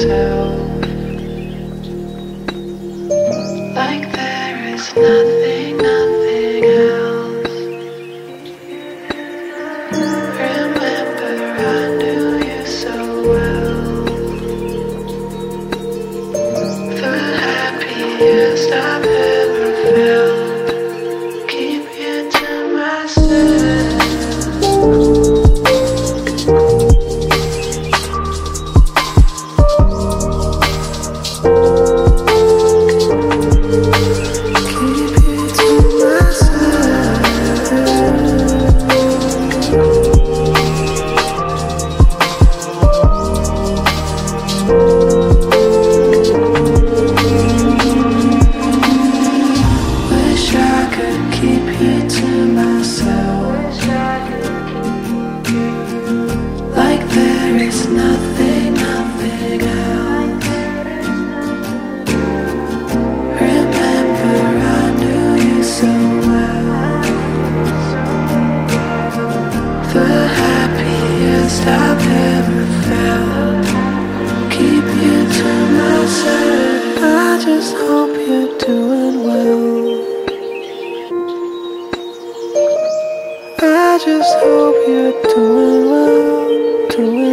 myself. Like there is nothing, nothing else. Remember, I knew you so well. The happiest I've ever felt. Keep you to myself. I've ever felt. Keep you to myself. I just hope you're doing well. I just hope you're doing well, doing